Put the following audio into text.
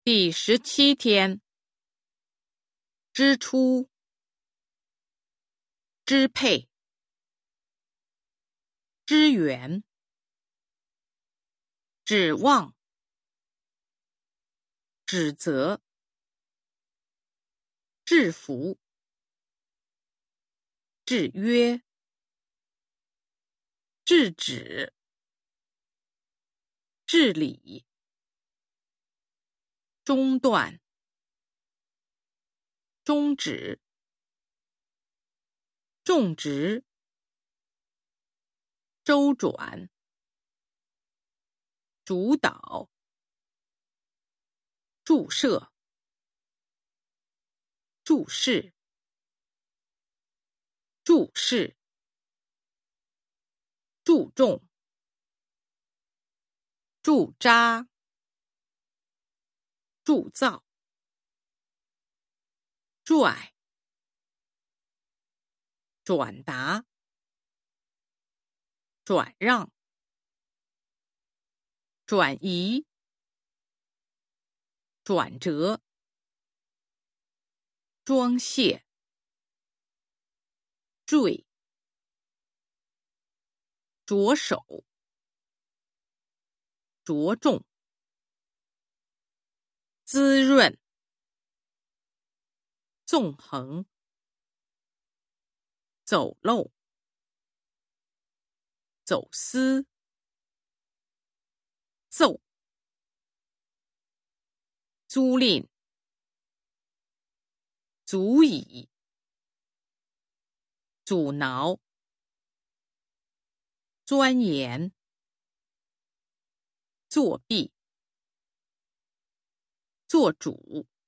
第17天，支出、支配、支援、指望、指责、制服、制约、制止、治理、中断、终止、种植、周转、主导、注射、注释、注释、注重、驻扎、铸造、拽、转达、转让、转移、转折、装卸、坠、着手、着重、滋润、纵横、走漏、走私、奏、租赁、足以、阻挠、钻研、作弊、做主。